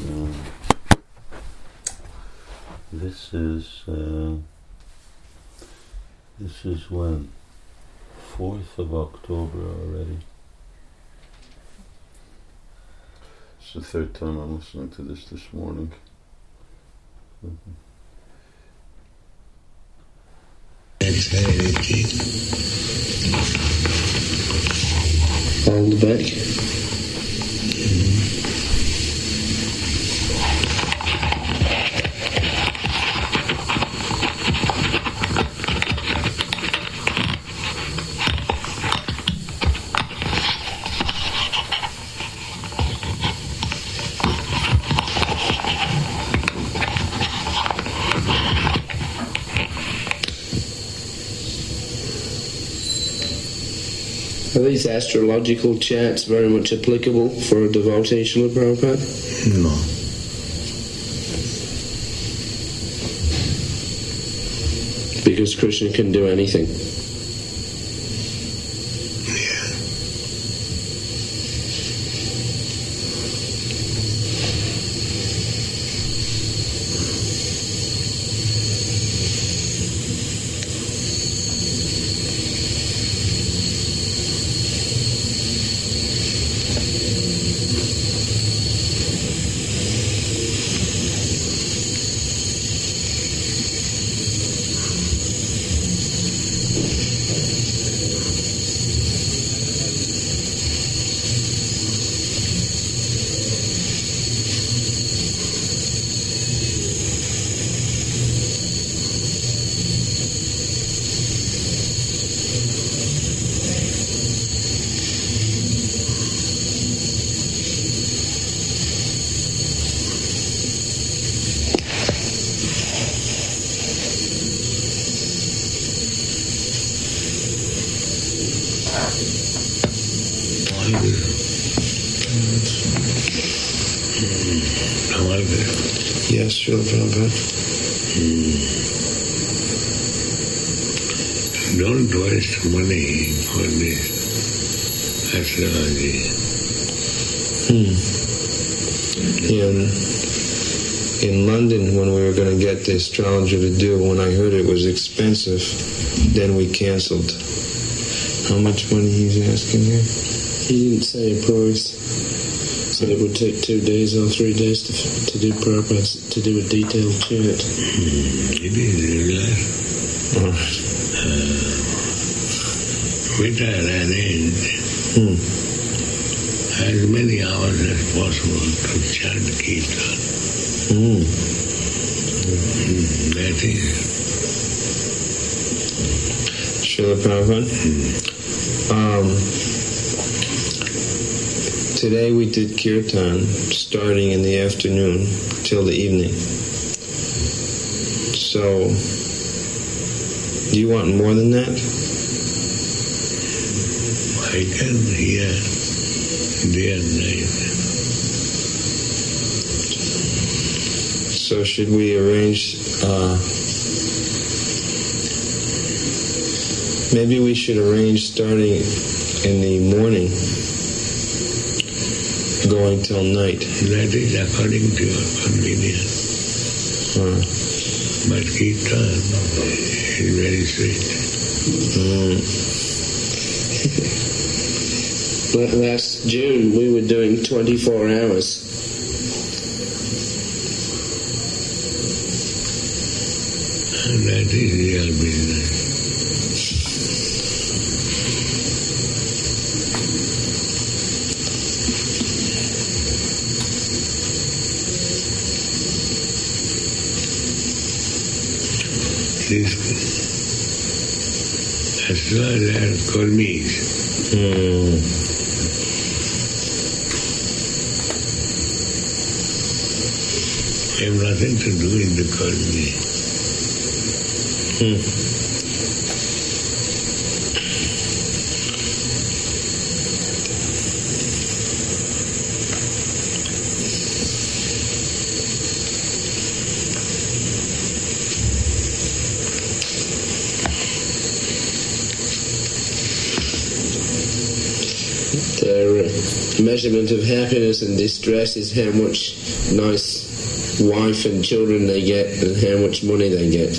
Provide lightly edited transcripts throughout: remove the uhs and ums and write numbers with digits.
This is when? 4th of October already. It's the third time I'm listening to this morning. Hold back. Are these astrological chants very much applicable for a devotee, Srila Prabhupada? No. Because Krishna can do anything. Yes, Srila Prabhupada. Don't waste money on this astrology. In London, when we were going to get the astrologer to do, when I heard it was expensive, then we canceled. How much money he's asking here? He didn't say a price. Said it would take 2 days or 3 days to do Prabhupada, to do a detailed chant. It is regular. Which I arranged as many hours as possible to chant Kirtan. That is. Srila Prabhupada? Today we did Kirtan starting in the afternoon till the evening. So, do you want more than that? I can hear day and night. So should we arrange, maybe we should arrange starting in the morning, going till night. That is according to your convenience. But Kirtan is very sweet. Last June, we were doing 24 hours. And that is real business. As well as Kurmis. I have nothing to do in the Kurmi. measurement of happiness and distress is how much nice wife and children they get and how much money they get.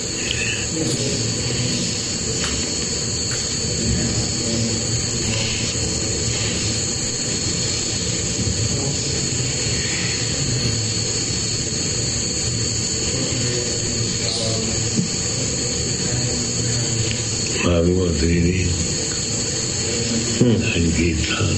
Bhagavad reading and Kirtan.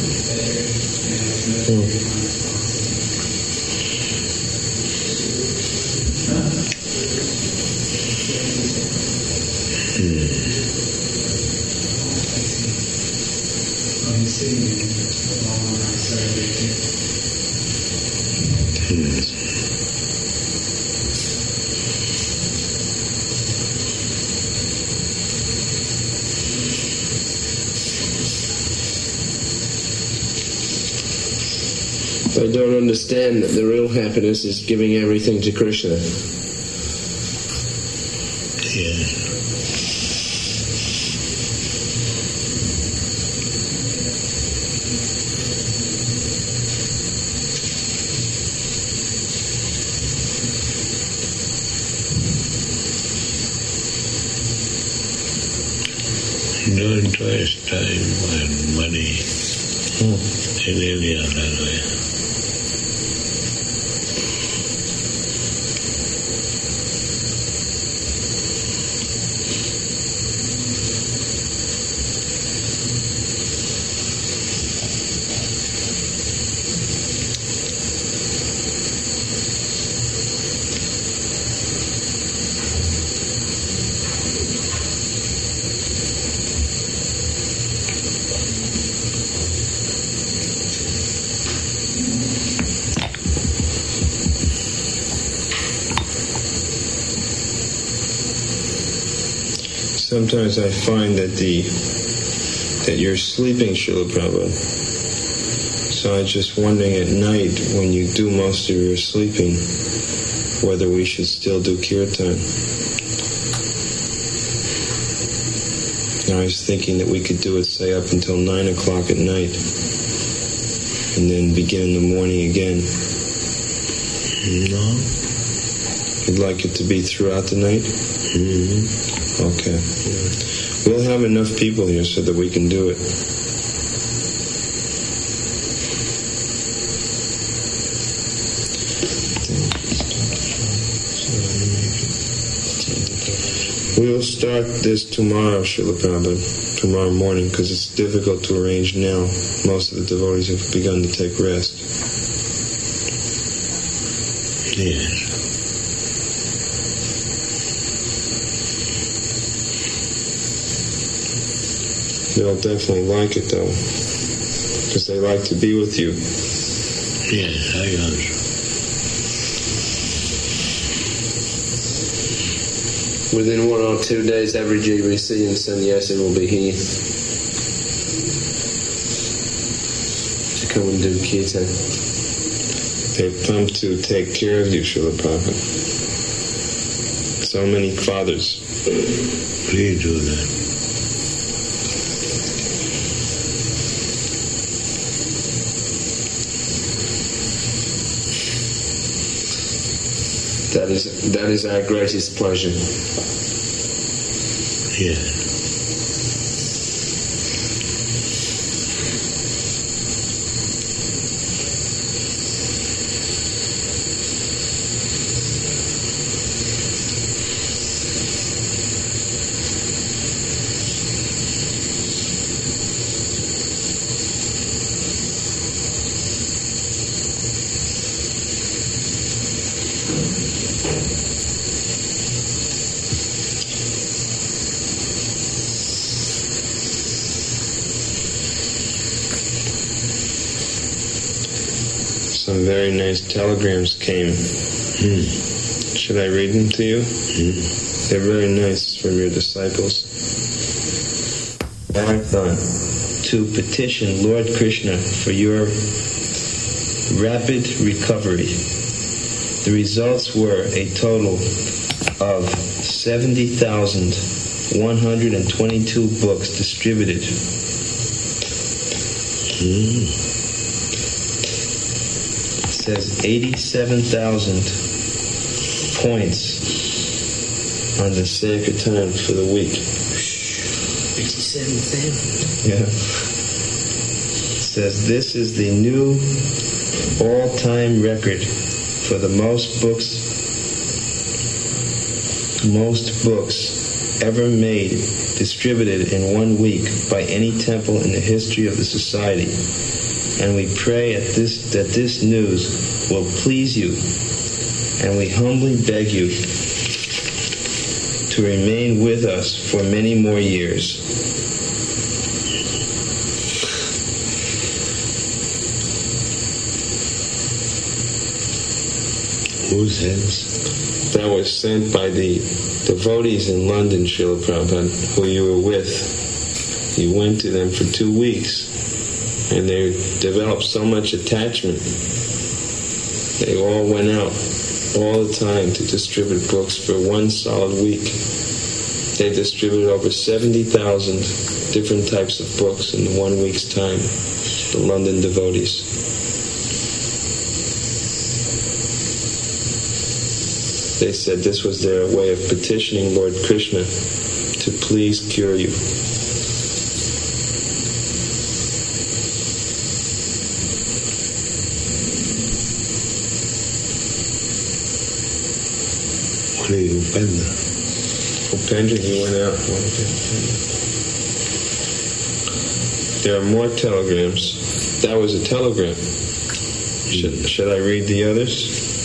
They don't understand that the real happiness is giving everything to Krishna. Yeah. Don't waste time and money in any other way. Sometimes I find that you're sleeping, Srila Prabhupada. So I was just wondering at night, when you do most of your sleeping, whether we should still do kirtan. I was thinking that we could do it, say, up until 9 o'clock at night, and then begin in the morning again. No. You'd like it to be throughout the night? Mm-hmm. Okay. We'll have enough people here so that we can do it. We'll start this tomorrow, Srila Prabhupada, tomorrow morning, because it's difficult to arrange now. Most of the devotees have begun to take rest. Yes. They'll definitely like it, though, because they like to be with you. Yes, I also. Within 1 or 2 days, every GBC and sannyasi will be here to come and do kirtan. They've come to take care of you, Srila Prabhupada. So many fathers. Please do that. That is our greatest pleasure. Yes. Some very nice telegrams came. Should I read them to you? They're very nice from your disciples. Marathon to petition Lord Krishna for your rapid recovery. The results were a total of 70,122 books distributed. says 87,000 points on the Sankirtan for the week. 87,000. Yeah. It says this is the new all-time record for the most books ever made distributed in 1 week by any temple in the history of the society. And we pray that this news will please you, and we humbly beg you to remain with us for many more years. Whose hands? That was sent by the devotees in London, Srila Prabhupada, who you were with. You went to them for 2 weeks, and they developed so much attachment. They all went out all the time to distribute books for 1 solid week. They distributed over 70,000 different types of books in 1 week's time, the London devotees. They said this was their way of petitioning Lord Krishna to please cure you. What are you, Upendra? Upendra, he went out. There are more telegrams. That was a telegram. Should I read the others?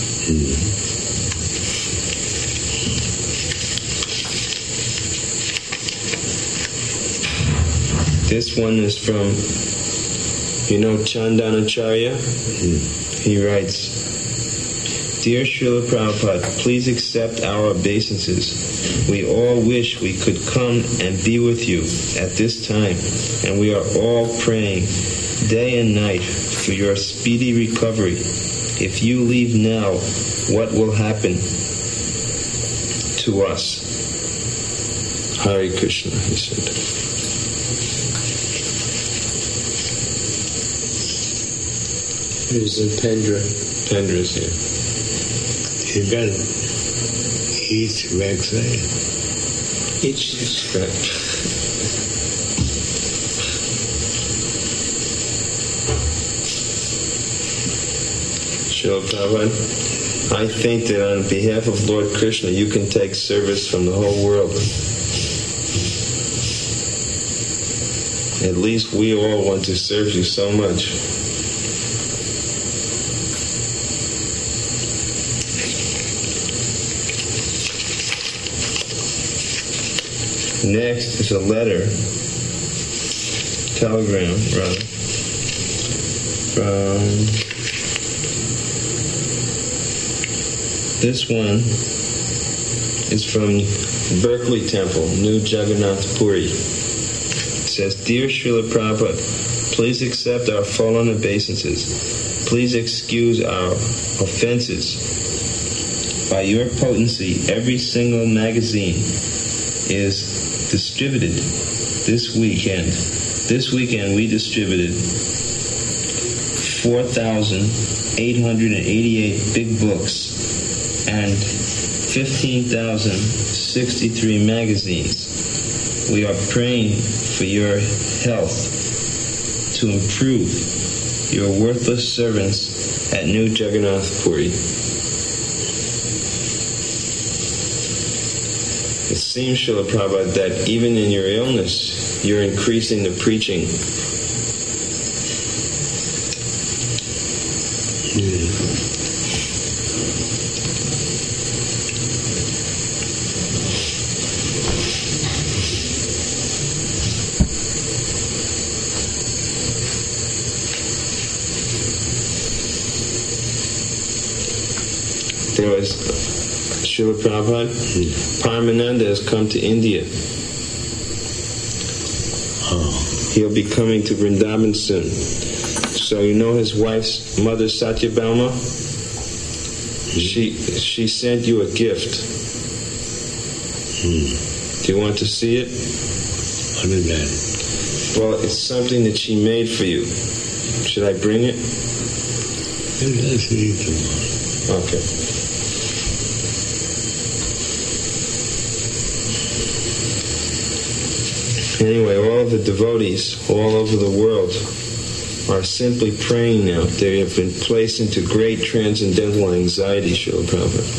This one is from, Chandanacharya? He writes, Dear Srila Prabhupada, please accept our obeisances. We all wish we could come and be with you at this time, and we are all praying day and night for your speedy recovery. If you leave now, what will happen to us? Hare Krishna, he said. Who's Upendra? Upendra's here. You got it. Each backside. Each. Right. Srila Prabhupada, I think that on behalf of Lord Krishna, you can take service from the whole world. At least we all want to serve you so much. Next is a telegram, from this one is from Berkeley Temple, New Jagannath Puri. It says, Dear Srila Prabhupada, please accept our fallen obeisances. Please excuse our offenses. By your potency, every single magazine is distributed this weekend. This weekend we distributed 4,888 big books and 15,063 magazines. We are praying for your health to improve. Your worthless servants at New Jagannath Puri. It seems, Srila Prabhupada, that even in your illness, you're increasing the preaching. There was Srila Prabhupada, Paramananda has come to India. He'll be coming to Vrindavan soon. So you know his wife's mother, Satyabhalma? She sent you a gift. Do you want to see it? What is that? Well, it's something that she made for you. Should I bring it? Maybe I'll see you tomorrow. Okay. Anyway, all of the devotees all over the world are simply praying now. They have been placed into great transcendental anxiety, Srila Prabhupada.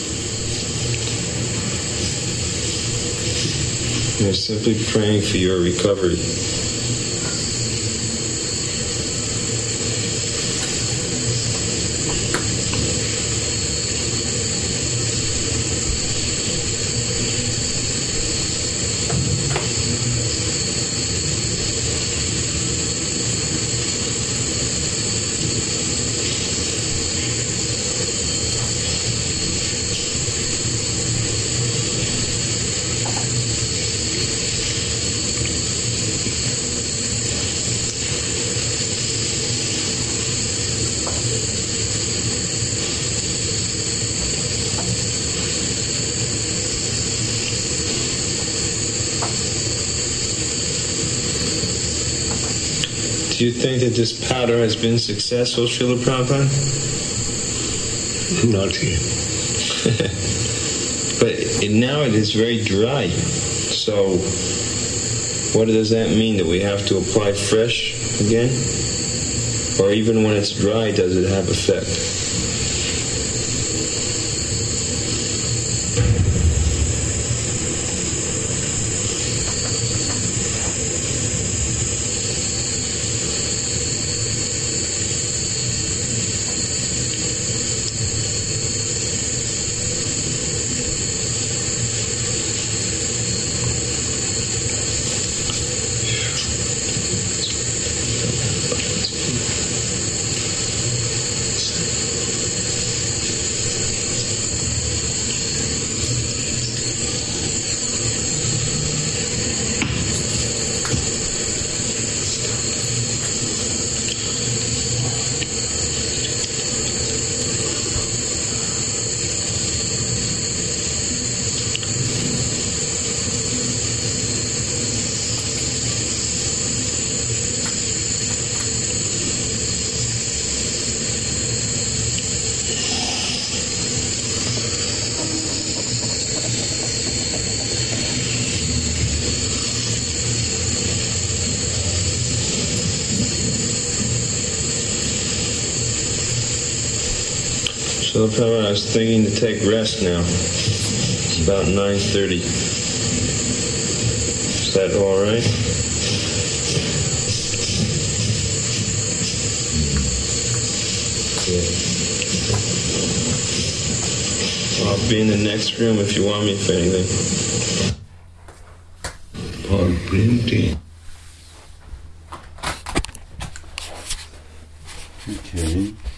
They're simply praying for your recovery. Do you think that this powder has been successful, Srila Prabhupada? Not yet. But now it is very dry. So what does that mean? That we have to apply fresh again? Or even when it's dry, does it have effect? So I was thinking to take rest now. It's about 9:30. Is that all right? Yeah. I'll be in the next room if you want me for anything. For printing. Okay.